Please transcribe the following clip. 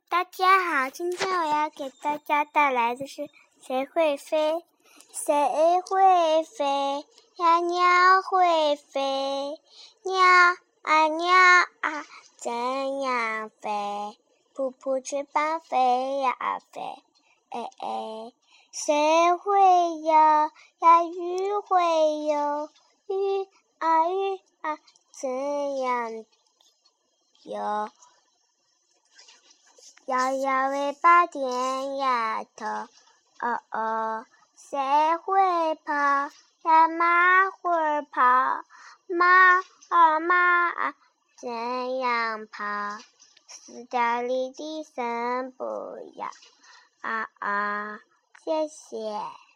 大家好，今天我要给大家带来的是谁会飞？谁会飞呀？鸟会飞，鸟啊鸟啊，怎样飞？扑扑翅膀飞呀飞，哎哎，谁会游呀？鱼会游，鱼啊，怎样游？摇摇尾巴点呀头，哦哦，谁会跑呀？马会跑，马啊，怎样跑？四条离地三步呀，谢谢。